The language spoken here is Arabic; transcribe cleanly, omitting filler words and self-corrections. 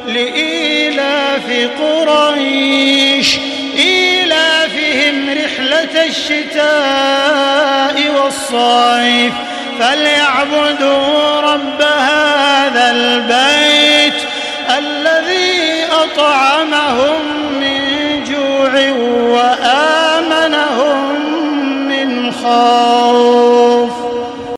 لإيلاف قريش إيلافهم رحلة الشتاء والصيف فليعبدوا رب هذا البيت الذي أطعمهم من جوع وآمنهم من خوف.